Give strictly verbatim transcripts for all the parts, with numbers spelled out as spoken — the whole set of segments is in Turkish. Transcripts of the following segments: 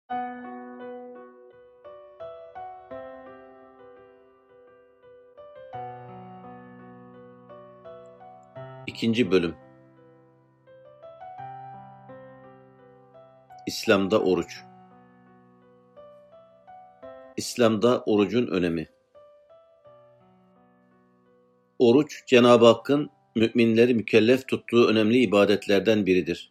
İkinci Bölüm. İslam'da oruç. İslam'da orucun önemi. Oruç, Cenab-ı Hakk'ın müminleri mükellef tuttuğu önemli ibadetlerden biridir.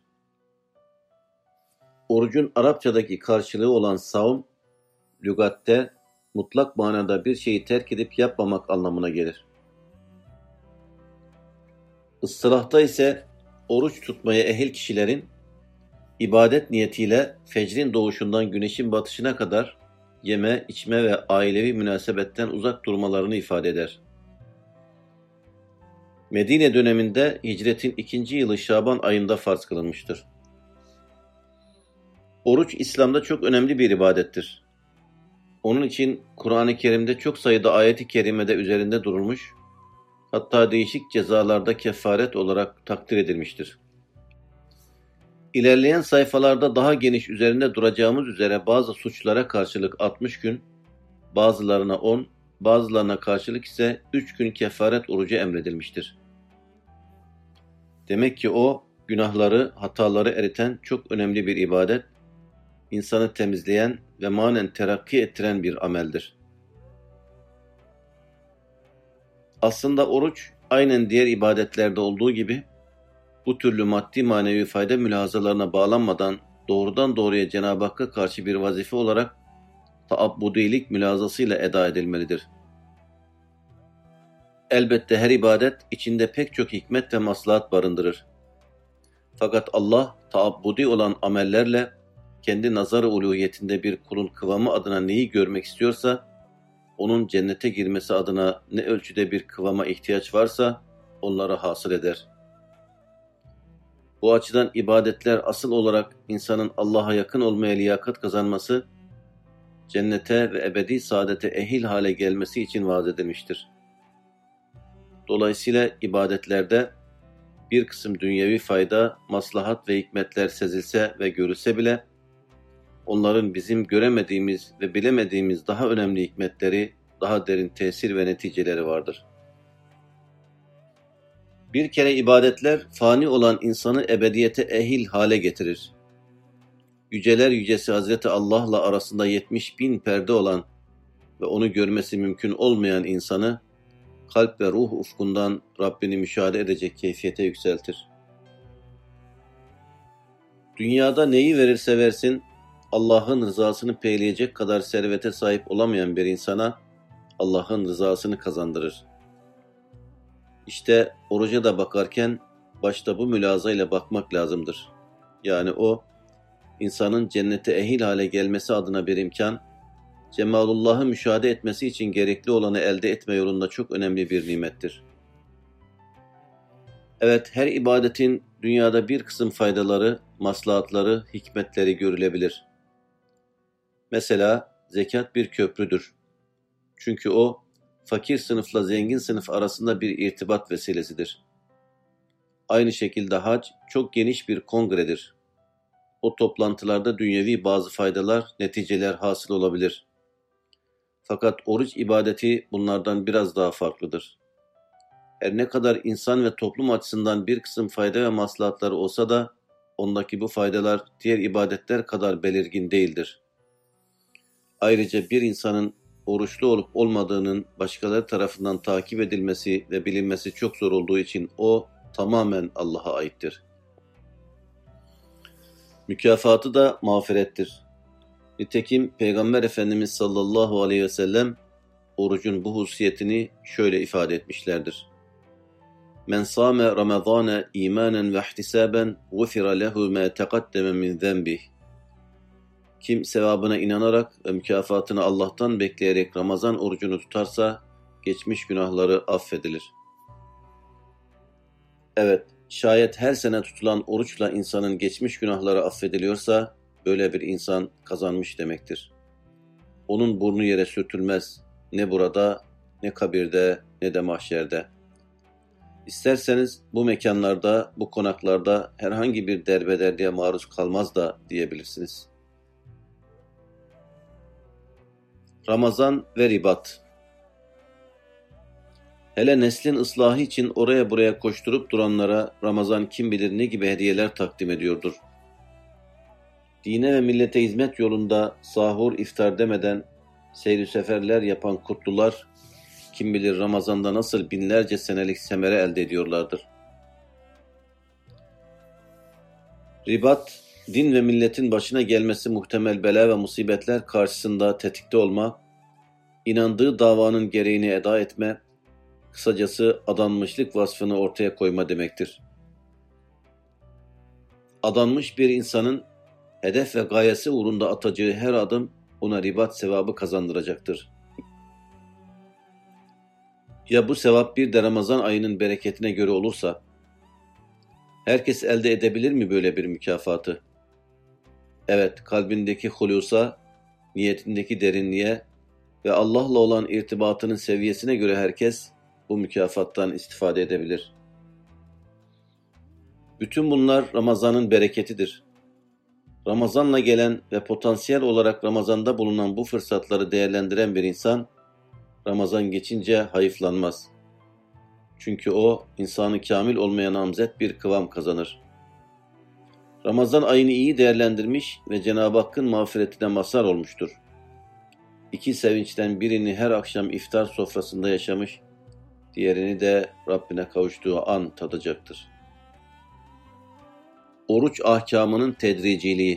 Orucun Arapçadaki karşılığı olan savm, lügatte mutlak manada bir şeyi terk edip yapmamak anlamına gelir. Istilahta ise oruç tutmaya ehil kişilerin ibadet niyetiyle fecrin doğuşundan güneşin batışına kadar yeme, içme ve ailevi münasebetten uzak durmalarını ifade eder. Medine döneminde hicretin ikinci yılı Şaban ayında farz kılınmıştır. Oruç İslam'da çok önemli bir ibadettir. Onun için Kur'an-ı Kerim'de çok sayıda ayet-i kerimede üzerinde durulmuş, hatta değişik cezalarda kefaret olarak takdir edilmiştir. İlerleyen sayfalarda daha geniş üzerinde duracağımız üzere bazı suçlara karşılık altmış gün, bazılarına on, bazılarına karşılık ise üç gün kefaret orucu emredilmiştir. Demek ki o, günahları, hataları eriten çok önemli bir ibadet, insanı temizleyen ve manen terakki ettiren bir ameldir. Aslında oruç, aynen diğer ibadetlerde olduğu gibi, bu türlü maddi manevi fayda mülahazalarına bağlanmadan doğrudan doğruya Cenab-ı Hakk'a karşı bir vazife olarak taabbudilik mülahazasıyla eda edilmelidir. Elbette her ibadet içinde pek çok hikmet ve maslahat barındırır. Fakat Allah taabbudi olan amellerle kendi nazar-ı uluhiyetinde bir kulun kıvamı adına neyi görmek istiyorsa, onun cennete girmesi adına ne ölçüde bir kıvama ihtiyaç varsa onları hasıl eder. Bu açıdan ibadetler asıl olarak insanın Allah'a yakın olmaya liyakat kazanması, cennete ve ebedi saadete ehil hale gelmesi için vaaz edilmiştir. Dolayısıyla ibadetlerde bir kısım dünyevi fayda, maslahat ve hikmetler sezilse ve görülse bile, onların bizim göremediğimiz ve bilemediğimiz daha önemli hikmetleri, daha derin tesir ve neticeleri vardır. Bir kere ibadetler fani olan insanı ebediyete ehil hale getirir. Yüceler yücesi Hazreti Allah'la arasında yetmiş bin perde olan ve onu görmesi mümkün olmayan insanı kalp ve ruh ufkundan Rabbini müşahede edecek keyfiyete yükseltir. Dünyada neyi verirse versin, Allah'ın rızasını peyleyecek kadar servete sahip olamayan bir insana Allah'ın rızasını kazandırır. İşte oruca da bakarken başta bu mülazayla bakmak lazımdır. Yani o, insanın cennete ehil hale gelmesi adına bir imkan, Cemalullah'ı müşahede etmesi için gerekli olanı elde etme yolunda çok önemli bir nimettir. Evet, her ibadetin dünyada bir kısım faydaları, maslahatları, hikmetleri görülebilir. Mesela zekat bir köprüdür. Çünkü o, fakir sınıfla zengin sınıf arasında bir irtibat vesilesidir. Aynı şekilde hac çok geniş bir kongredir. O toplantılarda dünyevi bazı faydalar, neticeler hasıl olabilir. Fakat oruç ibadeti bunlardan biraz daha farklıdır. Her ne kadar insan ve toplum açısından bir kısım fayda ve maslahatları olsa da, ondaki bu faydalar diğer ibadetler kadar belirgin değildir. Ayrıca bir insanın oruçlu olup olmadığının başkaları tarafından takip edilmesi ve bilinmesi çok zor olduğu için o tamamen Allah'a aittir. Mükafatı da mağfirettir. Nitekim Peygamber Efendimiz sallallahu aleyhi ve sellem orucun bu hususiyetini şöyle ifade etmişlerdir. Men sâme Ramazâne îmânen ve ihtisâben gufira lehu mâ teqaddeme min zenbih. Kim sevabına inanarak ve mükafatını Allah'tan bekleyerek Ramazan orucunu tutarsa geçmiş günahları affedilir. Evet, şayet her sene tutulan oruçla insanın geçmiş günahları affediliyorsa böyle bir insan kazanmış demektir. Onun burnu yere sürtülmez, ne burada, ne kabirde, ne de mahşerde. İsterseniz bu mekanlarda, bu konaklarda herhangi bir derbederdiye maruz kalmaz da diyebilirsiniz. Ramazan ve ribat. Hele neslin ıslahı için oraya buraya koşturup duranlara Ramazan kim bilir ne gibi hediyeler takdim ediyordur. Dine ve millete hizmet yolunda sahur, iftar demeden seyri seferler yapan kutlular kim bilir Ramazan'da nasıl binlerce senelik semere elde ediyorlardır. Ribat, din ve milletin başına gelmesi muhtemel bela ve musibetler karşısında tetikte olma, inandığı davanın gereğini eda etme, kısacası adanmışlık vasfını ortaya koyma demektir. Adanmış bir insanın hedef ve gayesi uğrunda atacağı her adım ona ribat sevabı kazandıracaktır. Ya bu sevap bir de Ramazan ayının bereketine göre olursa, herkes elde edebilir mi böyle bir mükafatı? Evet, kalbindeki hulusa, niyetindeki derinliğe ve Allah'la olan irtibatının seviyesine göre herkes bu mükafattan istifade edebilir. Bütün bunlar Ramazan'ın bereketidir. Ramazan'la gelen ve potansiyel olarak Ramazan'da bulunan bu fırsatları değerlendiren bir insan, Ramazan geçince hayıflanmaz. Çünkü o, insanı kamil olmaya namzet bir kıvam kazanır. Ramazan ayını iyi değerlendirmiş ve Cenab-ı Hakk'ın mağfiretine mazhar olmuştur. İki sevinçten birini her akşam iftar sofrasında yaşamış, diğerini de Rabbine kavuştuğu an tadacaktır. Oruç ahkamının tedriciliği.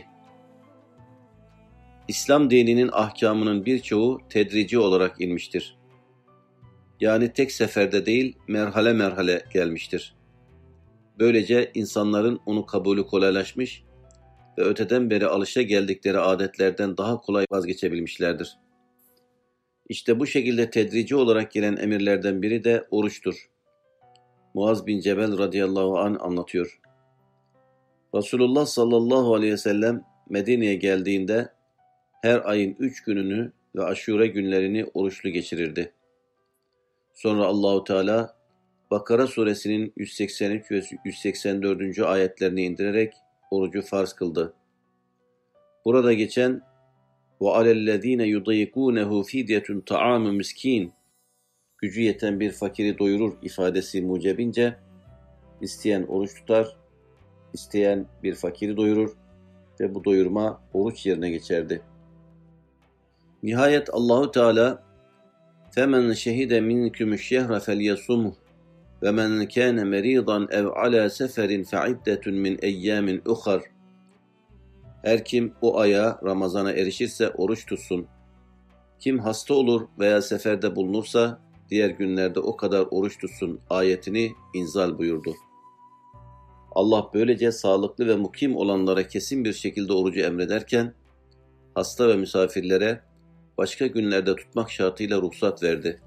İslam dininin ahkamının birçoğu tedrici olarak inmiştir. Yani tek seferde değil, merhale merhale gelmiştir. Böylece insanların onu kabulü kolaylaşmış ve öteden beri alışa geldikleri adetlerden daha kolay vazgeçebilmişlerdir. İşte bu şekilde tedrici olarak gelen emirlerden biri de oruçtur. Muaz bin Cebel radıyallahu anh anlatıyor. Resulullah sallallahu aleyhi ve sellem Medine'ye geldiğinde her ayın üç gününü ve aşure günlerini oruçlu geçirirdi. Sonra Allahu Teala Bakara suresinin yüz seksen üç ve yüz seksen dördüncü ayetlerini indirerek orucu farz kıldı. Burada geçen وَعَلَى الَّذ۪ينَ يُضَيِّقُونَهُ فِدْيَةٌ طَعَامُ miskin, gücü yeten bir fakiri doyurur ifadesi mucebince, isteyen oruç tutar, isteyen bir fakiri doyurur ve bu doyurma oruç yerine geçerdi. Nihayet Allahu Teala فَمَنْ شَهِدَ مِنْكُمُ الشَّهْرَ فَلْيَصُمْهُ وَمَنْ كَانَ مَرِيضًا اَوْ عَلَى سَفَرٍ فَعِدَّةٌ مِنْ اَيَّامٍ اُخَرٍ. Her kim o aya, Ramazan'a erişirse oruç tutsun. Kim hasta olur veya seferde bulunursa diğer günlerde o kadar oruç tutsun ayetini inzal buyurdu. Allah böylece sağlıklı ve mukim olanlara kesin bir şekilde orucu emrederken, hasta ve misafirlere başka günlerde tutmak şartıyla ruhsat verdi.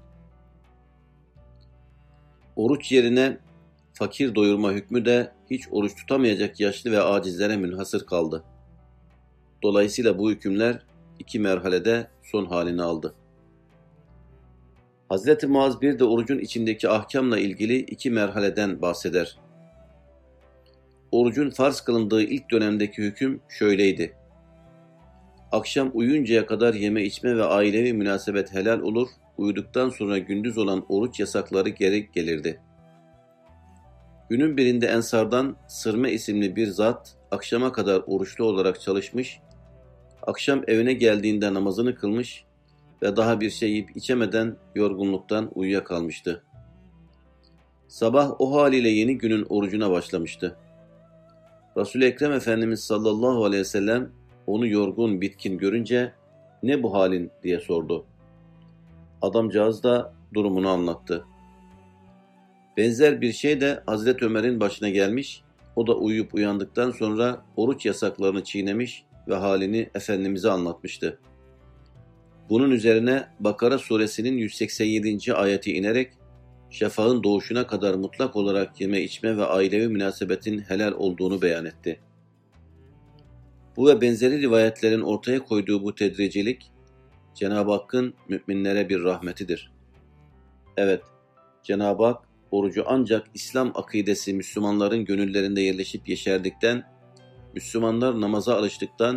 Oruç yerine fakir doyurma hükmü de hiç oruç tutamayacak yaşlı ve acizlere münhasır kaldı. Dolayısıyla bu hükümler iki merhalede son halini aldı. Hazreti Muaz bir de orucun içindeki ahkamla ilgili iki merhaleden bahseder. Orucun farz kılındığı ilk dönemdeki hüküm şöyleydi. Akşam uyuncaya kadar yeme içme ve ailevi münasebet helal olur, uyuduktan sonra gündüz olan oruç yasakları geri gelirdi. Günün birinde Ensardan Sırme isimli bir zat akşama kadar oruçlu olarak çalışmış, akşam evine geldiğinde namazını kılmış ve daha bir şey yiyip içemeden yorgunluktan uyuyakalmıştı. Sabah o haliyle yeni günün orucuna başlamıştı. Resul-i Ekrem Efendimiz sallallahu aleyhi ve sellem onu yorgun, bitkin görünce "Ne bu halin?" diye sordu. Adamcağız da durumunu anlattı. Benzer bir şey de Hazreti Ömer'in başına gelmiş, o da uyuyup uyandıktan sonra oruç yasaklarını çiğnemiş ve halini Efendimiz'e anlatmıştı. Bunun üzerine Bakara suresinin yüz seksen yedinci ayeti inerek şafağın doğuşuna kadar mutlak olarak yeme içme ve ailevi münasebetin helal olduğunu beyan etti. Bu ve benzeri rivayetlerin ortaya koyduğu bu tedricilik, Cenab-ı Hakk'ın müminlere bir rahmetidir. Evet, Cenab-ı Hak orucu ancak İslam akidesi Müslümanların gönüllerinde yerleşip yeşerdikten, Müslümanlar namaza alıştıktan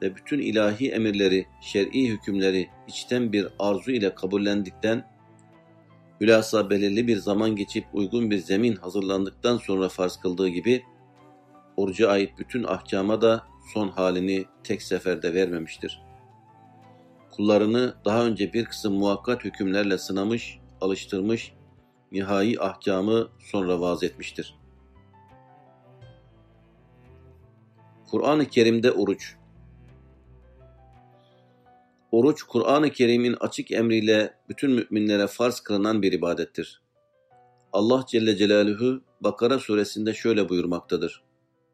ve bütün ilahi emirleri, şer'i hükümleri içten bir arzu ile kabullendikten, hülasa belirli bir zaman geçip uygun bir zemin hazırlandıktan sonra farz kıldığı gibi, oruca ait bütün ahkama da son halini tek seferde vermemiştir. Kullarını daha önce bir kısım muhakkat hükümlerle sınamış, alıştırmış, nihai ahkamı sonra vaz etmiştir. Kur'an-ı Kerim'de oruç. Oruç, Kur'an-ı Kerim'in açık emriyle bütün müminlere farz kılınan bir ibadettir. Allah Celle Celaluhu Bakara suresinde şöyle buyurmaktadır.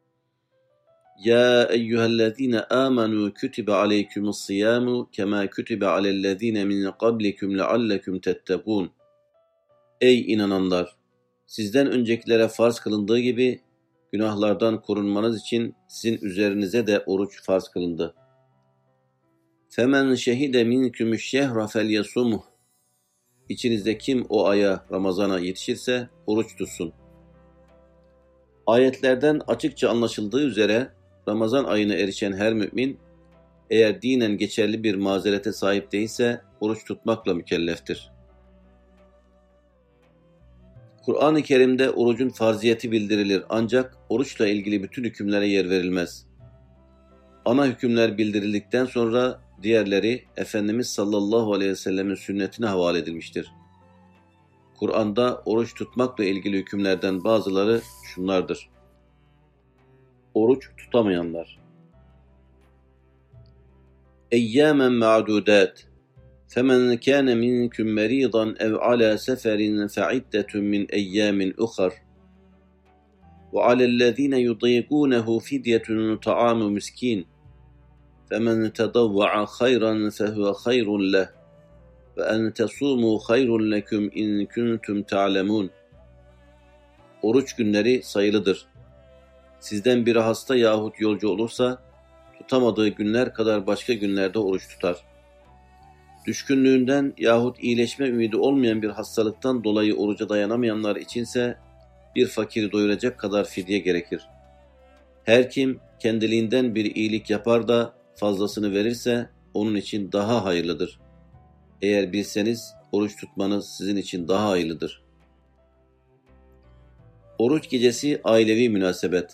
Ya eyyühellezine amenu kütübe aleykümüs-siyamu kema kütübe alellezine min qablikum leallekum tettekûn. Ey inananlar! Sizden öncekilere farz kılındığı gibi günahlardan korunmanız için sizin üzerinize de oruç farz kılındı. فَمَنْ شَهِدَ مِنْكُمُ الشَّهْرَ فَلْيَصُمْهُ. İçinizde kim o aya, Ramazan'a yetişirse oruç tutsun. Ayetlerden açıkça anlaşıldığı üzere Ramazan ayına erişen her mümin, eğer dinen geçerli bir mazerete sahip değilse oruç tutmakla mükelleftir. Kur'an-ı Kerim'de orucun farziyeti bildirilir ancak oruçla ilgili bütün hükümlere yer verilmez. Ana hükümler bildirildikten sonra diğerleri Efendimiz sallallahu aleyhi ve sellemin sünnetine havale edilmiştir. Kur'an'da oruç tutmakla ilgili hükümlerden bazıları şunlardır. Oruç tutamayanlar. Eyyâmen ma'dûdât. فَمَنْ كَانَ مِنْكُمْ مَرِيضًا اَوْ عَلَى سَفَرٍ فَعِدَّةٌ مِنْ اَيَّامٍ اُخَرٍ وَعَلَى الَّذ۪ينَ يُطِيقُونَهُ فِدْيَةٌ طَعَامُ مِسْكِينٍ فَمَنْ تَطَوَّعَ خَيْرًا فَهُوَ خَيْرٌ لَهُ وَاَنْ تَصُومُوا خَيْرٌ لَكُمْ اِنْ كُنْتُمْ تَعْلَمُونَ. Oruç günleri sayılıdır. Sizden biri hasta yahut yolcu olursa, tutamadığı günler kadar başka günlerde oruç tutar. Düşkünlüğünden yahut iyileşme ümidi olmayan bir hastalıktan dolayı oruca dayanamayanlar içinse bir fakiri doyuracak kadar fidye gerekir. Her kim kendiliğinden bir iyilik yapar da fazlasını verirse onun için daha hayırlıdır. Eğer bilseniz oruç tutmanız sizin için daha hayırlıdır. Oruç gecesi ailevi münasebet.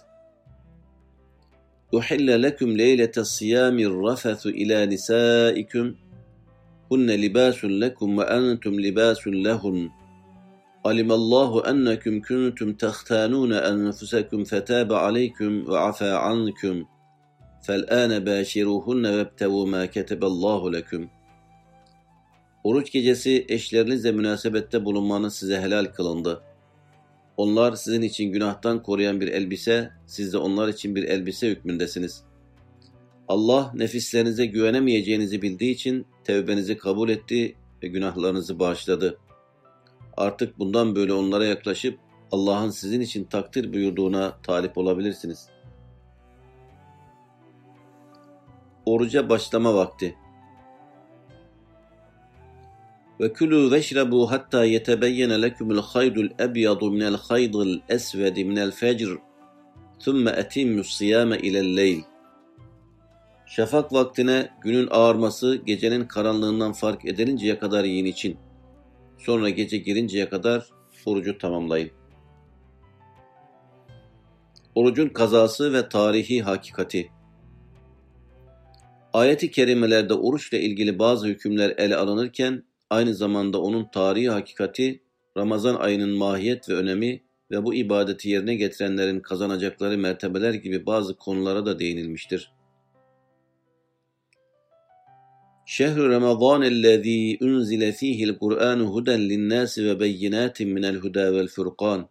Uhille lekum leylete siyamir rafethu ila nisaikum hunne libasun lekum ve entum libasun lehun. Alimallahu ennekum kuntum tahtanun enfusakum fetaba aleykum ve afa ankum. Fel'ane bashiruhunne vebtevu ma keteballahu lekum. Oruç gecesi eşlerinizle münasebette bulunmanız size helal kılındı. Onlar sizin için günahtan koruyan bir elbise, siz de onlar için bir elbise hükmündesiniz. Allah nefislerinize güvenemeyeceğinizi bildiği için tevbenizi kabul etti ve günahlarınızı bağışladı. Artık bundan böyle onlara yaklaşıp Allah'ın sizin için takdir buyurduğuna talip olabilirsiniz. Oruca başlama vakti. Ve kulû veşrebû hattâ yetebeyyene lekumul haydul ebyadu minel haydil esvedi minel fecr thumme etimmus siyâme ilel leyl. Şafak vaktine günün ağarması gecenin karanlığından fark edilinceye kadar yiyin için. Sonra gece girinceye kadar orucu tamamlayın. Orucun kazası ve tarihi hakikati. Ayet-i kerimelerde oruçla ilgili bazı hükümler ele alınırken aynı zamanda onun tarihi hakikati, Ramazan ayının mahiyet ve önemi ve bu ibadeti yerine getirenlerin kazanacakları mertebeler gibi bazı konulara da değinilmiştir. Şehr-i Ramazanellezî unzile fîhil Kur'ânu huden linnâsi ve beyinâtin minel hudâ vel furqân.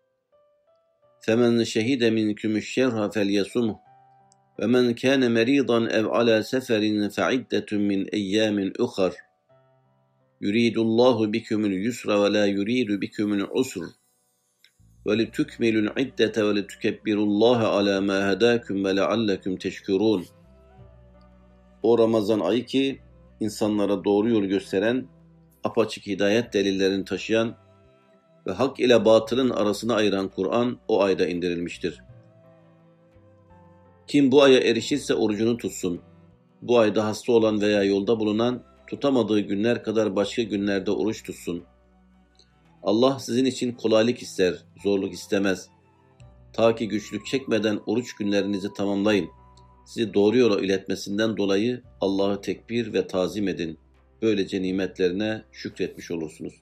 Femen şehide minkümüş-şerha felyesumhu ve men kâne merîdan ev alâ seferin fe'iddetun min eyyâmin ukhar. Yuridullahu bikumul yusra ve la yuridu bikumul usr. Ve litukmilul iddete ve litukebbirullaha alâ mâ hedâkum ve leallekum teşkurûn. O Ramazan ayı ki insanlara doğru yolu gösteren, apaçık hidayet delillerini taşıyan ve hak ile batılın arasını ayıran Kur'an o ayda indirilmiştir. Kim bu aya erişirse orucunu tutsun. Bu ayda hasta olan veya yolda bulunan tutamadığı günler kadar başka günlerde oruç tutsun. Allah sizin için kolaylık ister, zorluk istemez. Ta ki güçlük çekmeden oruç günlerinizi tamamlayın. Sizi doğru yola iletmesinden dolayı Allah'ı tekbir ve tazim edin. Böylece nimetlerine şükretmiş olursunuz.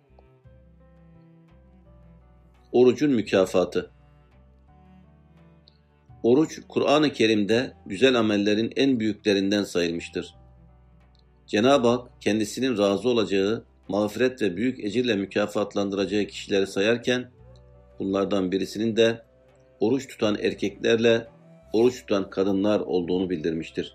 Orucun mükafatı. Oruç, Kur'an-ı Kerim'de güzel amellerin en büyüklerinden sayılmıştır. Cenab-ı Hak kendisinin razı olacağı, mağfiret ve büyük ecirle mükafatlandıracağı kişileri sayarken, bunlardan birisinin de oruç tutan erkeklerle oruç tutan kadınlar olduğunu bildirmiştir.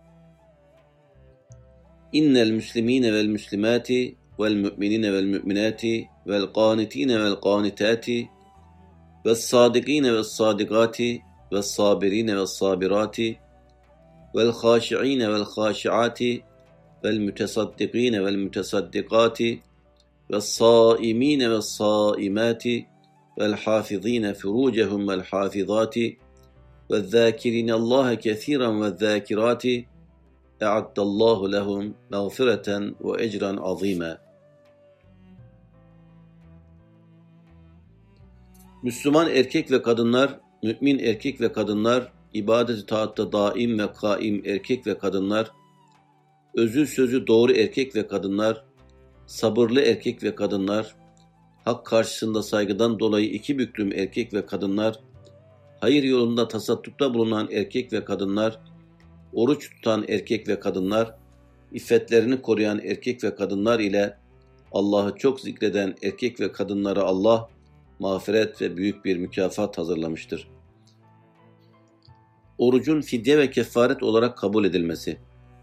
İnnel müslimine vel müslimati vel mü'minine vel mü'minati vel qanitine vel qanitati vel sadigine vel sadigati vel sabirine vel sabirati vel khâşi'ine vel khâşi'ati vel mütesaddikine vel mütesaddikati vel sâimine vel sâimati vel hâfizine furûcehum vel hâfizati vel zâkirine Allâhe kethîran vel zâkirati e'addallahu lehum mağfireten ve ecran azîmâ. Müslüman erkek ve kadınlar, mümin erkek ve kadınlar, ibadet-i taatta daim ve kaim erkek ve kadınlar, özü sözü doğru erkek ve kadınlar, sabırlı erkek ve kadınlar, hak karşısında saygıdan dolayı iki büklüm erkek ve kadınlar, hayır yolunda tasaddukta bulunan erkek ve kadınlar, oruç tutan erkek ve kadınlar, iffetlerini koruyan erkek ve kadınlar ile Allah'ı çok zikreden erkek ve kadınlara Allah mağfiret ve büyük bir mükafat hazırlamıştır. Orucun fidye ve kefaret olarak kabul edilmesi.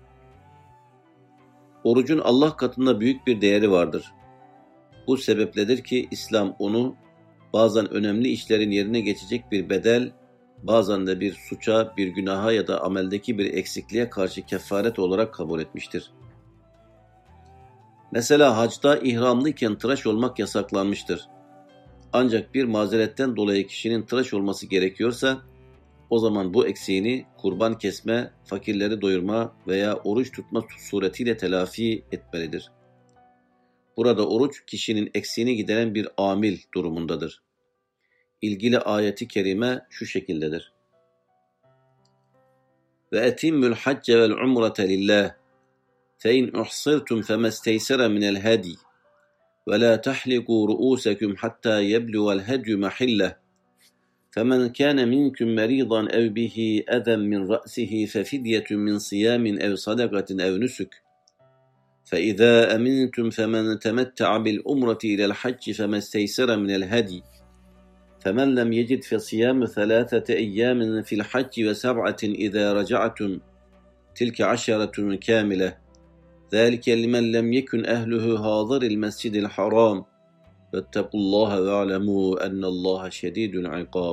Orucun Allah katında büyük bir değeri vardır. Bu sebepledir ki İslam onu bazen önemli işlerin yerine geçecek bir bedel, bazen de bir suça, bir günaha ya da ameldeki bir eksikliğe karşı kefaret olarak kabul etmiştir. Mesela hacda ihramlıyken tıraş olmak yasaklanmıştır. Ancak bir mazeretten dolayı kişinin tıraş olması gerekiyorsa, o zaman bu eksiğini kurban kesme, fakirleri doyurma veya oruç tutma suretiyle telafi etmelidir. Burada oruç kişinin eksiğini gideren bir amil durumundadır. İlgili ayeti kerime şu şekildedir. Ve etimmül hacce vel umrete lillah fe in uhsirtum femesteysere minel hadi ve la tahliku ru'usakum hatta yebluğel hedyu mahillah فَمَنْ كَانَ مِنْكُمْ مَرِيضًا اَوْ بِهِ اَذًى مِنْ رَأْسِهِ فَفِدْيَةٌ مِنْ صِيَامٍ اَوْ صَدَقَةٍ اَوْ نُسُكٍ فَإِذَا أَمِنْتُمْ فَمَنْ تَمَتَّعَ بِالْأُمْرَةِ إِلَى الْحَجِّ فَمَا اسْتَيْسَرَ مِنَ الْهَدْيِ فَمَنْ لَمْ يَجِدْ فَصِيَامُ ثَلَاثَةِ أَيَّامٍ فِي الْحَجِّ وَسَبْعَةٍ إِذَا رَجَعْتُمْ تِلْكَ عَشَرَةٌ كَامِلَةٌ ذَلِكَ لِمَنْ لَمْ يَكُنْ أَهْلُهُ حَاضِرِي الْمَسْجِدِ الْحَرَامِ وَاتَّقُوا اللّٰهَ وَاعْلَمُوا أَنَّ اللّٰهَ شَدِيدُ الْعِقَابِ.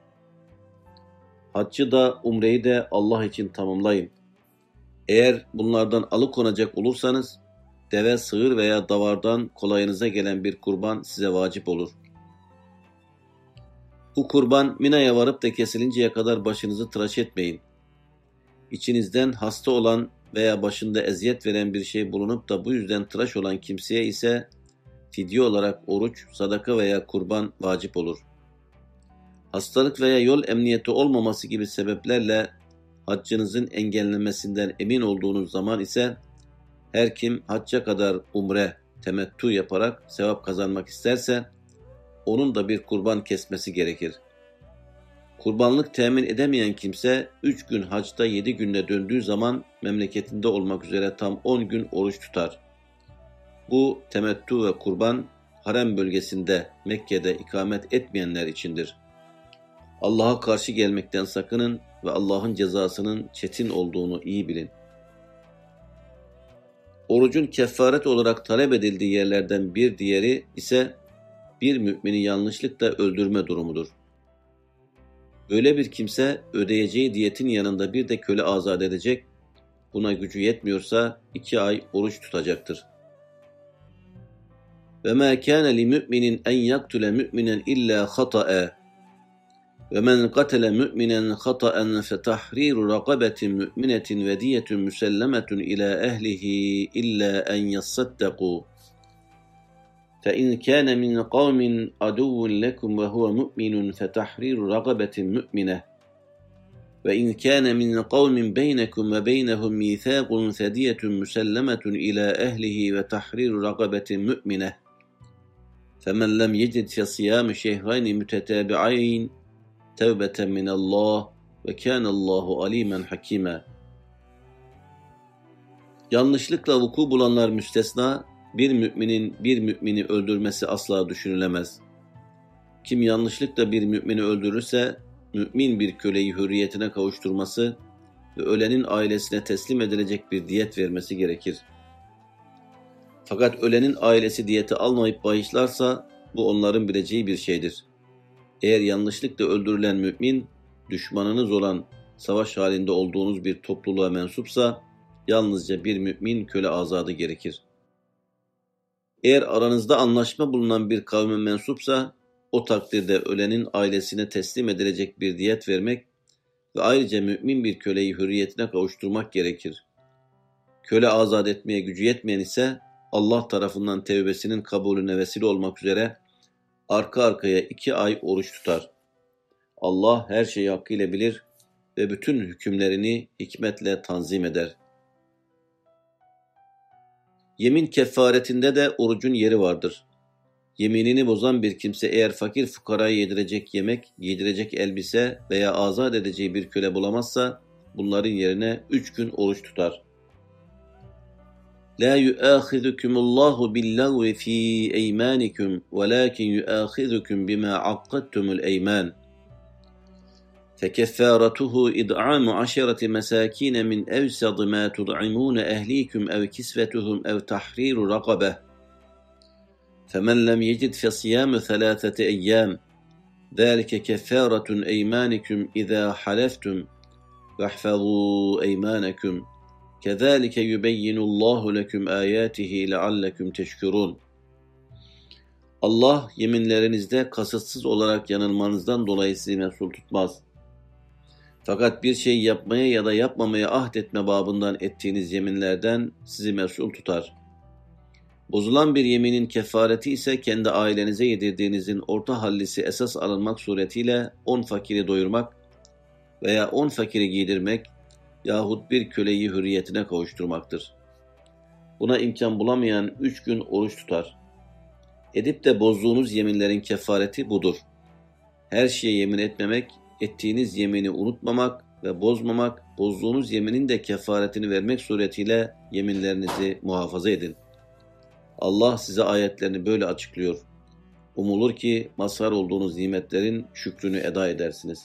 Haccı da umreyi de Allah için tamamlayın. Eğer bunlardan alıkonacak olursanız, deve, sığır veya davardan kolayınıza gelen bir kurban size vacip olur. Bu kurban Mina'ya varıp da kesilinceye kadar başınızı tıraş etmeyin. İçinizden hasta olan veya başında eziyet veren bir şey bulunup da bu yüzden tıraş olan kimseye ise fidye olarak oruç, sadaka veya kurban vacip olur. Hastalık veya yol emniyeti olmaması gibi sebeplerle haccınızın engellenmesinden emin olduğunuz zaman ise her kim hacca kadar umre, temettü yaparak sevap kazanmak isterse onun da bir kurban kesmesi gerekir. Kurbanlık temin edemeyen kimse üç gün hacda yedi günde döndüğü zaman memleketinde olmak üzere tam on gün oruç tutar. Bu temettü ve kurban harem bölgesinde Mekke'de ikamet etmeyenler içindir. Allah'a karşı gelmekten sakının ve Allah'ın cezasının çetin olduğunu iyi bilin. Orucun kefaret olarak talep edildiği yerlerden bir diğeri ise bir mümini yanlışlıkla öldürme durumudur. Böyle bir kimse ödeyeceği diyetin yanında bir de köle azat edecek, buna gücü yetmiyorsa iki ay oruç tutacaktır. وَمَا كَانَ لِمُؤْمِنٍ اَنْ يَقْتُلَ مُؤْمِنًا اِلَّا خَطَأً وَمَنْ قَتَلَ مُؤْمِنًا خَطَأً فَتَحْرِيرُ رَقَبَةٍ مُؤْمِنَةٍ وَدِيَةٌ مُسَلَّمَةٌ إِلَى أَهْلِهِ إِلَّا أَنْ يَصَّدَّقُوا فَإِنْ كَانَ مِنْ قَوْمٍ عَدُوٍّ لَكُمْ وَهُوَ مُؤْمِنٌ فَتَحْرِيرُ رَقَبَةٍ مُؤْمِنَةٍ وَإِنْ كَانَ مِنْ قَوْمٍ بَيْنَكُمْ وَبَيْنَهُمْ مِيثَاقٌ فَدِيَةٌ مُسَلَّمَةٌ إِلَى أَهْلِهِ وَتَحْرِيرُ رَقَبَةٍ مُؤْمِنَةٍ فَمَنْ لَمْ يَجِدْ فَصِيَامُ شَهْرَيْنِ مُتَتَابِعَيْنِ تَوْبَةً مِنَ اللّٰهِ وَكَانَ اللّٰهُ عَلِيمًا حَكِيمًا. Yanlışlıkla vuku bulanlar müstesna, bir müminin bir mümini öldürmesi asla düşünülemez. Kim yanlışlıkla bir mümini öldürürse, mümin bir köleyi hürriyetine kavuşturması ve ölenin ailesine teslim edilecek bir diyet vermesi gerekir. Fakat ölenin ailesi diyeti almayıp bağışlarsa, bu onların bileceği bir şeydir. Eğer yanlışlıkla öldürülen mümin, düşmanınız olan, savaş halinde olduğunuz bir topluluğa mensupsa, yalnızca bir mümin köle azadı gerekir. Eğer aranızda anlaşma bulunan bir kavme mensupsa, o takdirde ölenin ailesine teslim edilecek bir diyet vermek ve ayrıca mümin bir köleyi hürriyetine kavuşturmak gerekir. Köle azat etmeye gücü yetmeyen ise, Allah tarafından tevbesinin kabulüne vesile olmak üzere arka arkaya iki ay oruç tutar. Allah her şeyi hakkıyla bilir ve bütün hükümlerini hikmetle tanzim eder. Yemin kefaretinde de orucun yeri vardır. Yeminini bozan bir kimse eğer fakir fukaraya yedirecek yemek, giydirecek elbise veya azat edeceği bir köle bulamazsa, bunların yerine üç gün oruç tutar. لَا يُؤَاخِذُكُمُ اللّٰهُ بِاللَّغْوِ ف۪ي اَيْمَانِكُمْ وَلَاكِنْ يُؤَاخِذُكُمْ بِمَا عَقَّدْتُمُ الْاَيْمَانِ فَكَفَّارَتُهُ إِطْعَامُ عَشَرَةِ مَسَاكِينَ مِنْ أَوْسَطِ مَا تُطْعِمُونَ أَهْلِيكُمْ أَوْ كِسْوَتُهُمْ أَوْ تَحْرِيرُ رَقَبَةٍ فَمَنْ لَمْ يَجِدْ فَصِيَامُ ثَلَاثَةِ أَيَّامٍ ذَلِكَ كَفَّارَةُ أَيْمَانِكُمْ إِذَا حَلَفْتُمْ وَاحْفَظُوا أَيْمَانَكُمْ كَذَٰلِكَ يُبَيِّنُ اللّٰهُ لَكُمْ آيَاتِهِ لَعَلَّكُمْ تَشْكُرُونَ. Allah yeminlerinizde kasıtsız olarak yanılmanızdan dolayı sizi mesul tutmaz. Fakat bir şey yapmaya ya da yapmamaya ahdetme babından ettiğiniz yeminlerden sizi mesul tutar. Bozulan bir yeminin kefareti ise kendi ailenize yedirdiğinizin orta hallisi esas alınmak suretiyle on fakiri doyurmak veya on fakiri giydirmek yahut bir köleyi hürriyetine kavuşturmaktır. Buna imkan bulamayan üç gün oruç tutar. Edip de bozduğunuz yeminlerin kefareti budur. Her şeye yemin etmemek, ettiğiniz yemini unutmamak ve bozmamak, bozduğunuz yeminin de kefaretini vermek suretiyle yeminlerinizi muhafaza edin. Allah size ayetlerini böyle açıklıyor. Umulur ki mazhar olduğunuz nimetlerin şükrünü eda edersiniz.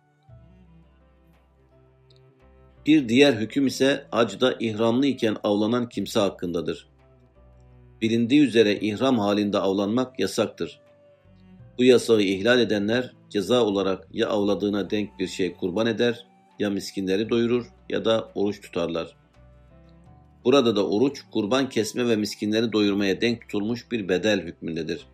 Bir diğer hüküm ise hacda ihramlı iken avlanan kimse hakkındadır. Bilindiği üzere ihram halinde avlanmak yasaktır. Bu yasağı ihlal edenler ceza olarak ya avladığına denk bir şey kurban eder, ya miskinleri doyurur ya da oruç tutarlar. Burada da oruç, kurban kesme ve miskinleri doyurmaya denk tutulmuş bir bedel hükmündedir.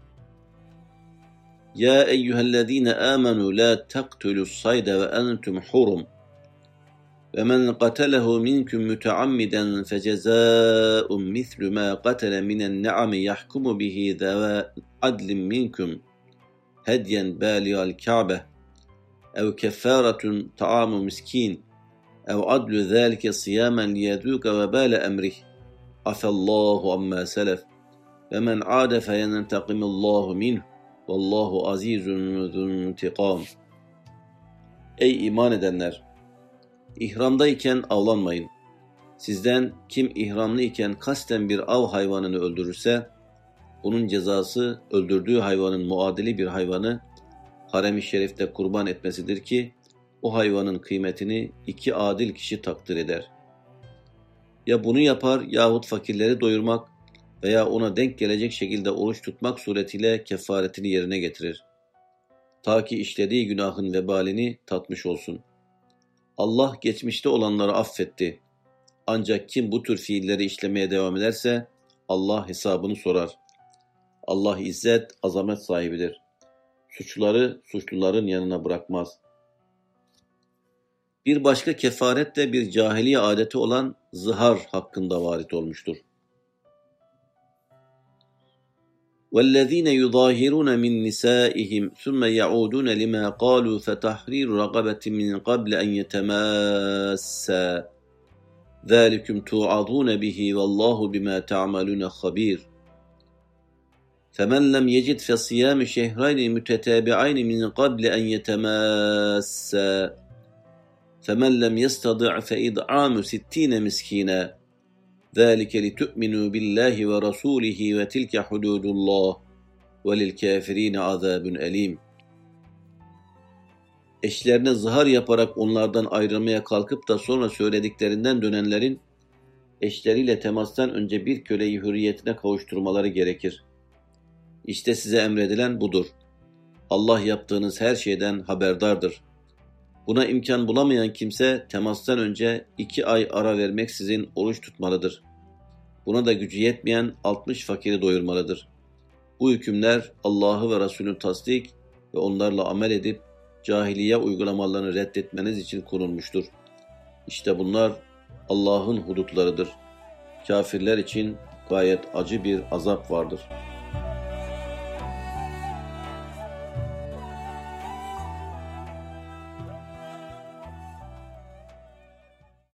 Ya eyyühellezine amenu la taqtulus sayda ve entum hurum ve men qatalehu minkum muteammiden fecezâ'un mislu ma qatale minen ne'ami yahkumu bihi zâve adlin minkum hedyen bâli'al ka'be ev keffâretun ta'amu miskin ev adlu zâlike siyamen liyedûke ve bâle emrih afallâhu amma selef ve men âde feyenentakimallâhu minhu vallahu azîzun zuntikâm. Ey iman edenler! İhramdayken avlanmayın. Sizden kim ihramlı iken kasten bir av hayvanını öldürürse, bunun cezası öldürdüğü hayvanın muadili bir hayvanı harem-i şerifte kurban etmesidir ki, o hayvanın kıymetini iki adil kişi takdir eder. Ya bunu yapar yahut fakirleri doyurmak veya ona denk gelecek şekilde oruç tutmak suretiyle kefaretini yerine getirir. Ta ki işlediği günahın vebalini tatmış olsun. Allah geçmişte olanları affetti. Ancak kim bu tür fiilleri işlemeye devam ederse Allah hesabını sorar. Allah izzet, azamet sahibidir. suçları suçluların yanına bırakmaz. Bir başka kefaret de bir cahiliye adeti olan zihar hakkında varit olmuştur. وَالَّذ۪ينَ يُظَاهِرُونَ مِنْ نِسَائِهِمْ ثُمَّ يَعُودُونَ لِمَا قَالُوا فَتَحْرِيرُ رَقَبَةٍ مِنْ قَبْلِ أَنْ يَتَمَاسَّا ذَٰلِكُمْ تُوعَظُونَ بِهِ وَاللّٰهُ بِمَا تَعْمَلُونَ خَب۪يرٌ فَمَنْ لَمْ يَجِدْ فَصِيَامُ شَهْرَيْنِ مُتَتَابِعَيْنِ مِنْ قَبْلِ أَنْ يَتَمَاسَّا فَمَنْ لَمْ يَسْتَطِعْ فَإِطْعَامُ سِتِّينَ مِسْكِينًا ذَٰلِكَ لِتُؤْمِنُوا بِاللّٰهِ وَرَسُولِهِ وَتِلْكَ حُدُودُ اللّٰهِ وَلِلْكَافِرِينَ عَذَابٌ أَلِيمٌ. Eşlerine zihar yaparak onlardan ayrılmaya kalkıp da sonra söylediklerinden dönenlerin eşleriyle temastan önce bir köleyi hürriyetine kavuşturmaları gerekir. İşte size emredilen budur. Allah yaptığınız her şeyden haberdardır. Buna imkan bulamayan kimse temastan önce iki ay ara vermeksizin oruç tutmalıdır. Buna da gücü yetmeyen altmış fakiri doyurmalıdır. Bu hükümler Allah'ı ve Resulünü tasdik ve onlarla amel edip cahiliye uygulamalarını reddetmeniz için konulmuştur. İşte bunlar Allah'ın hudutlarıdır. Kafirler için gayet acı bir azap vardır.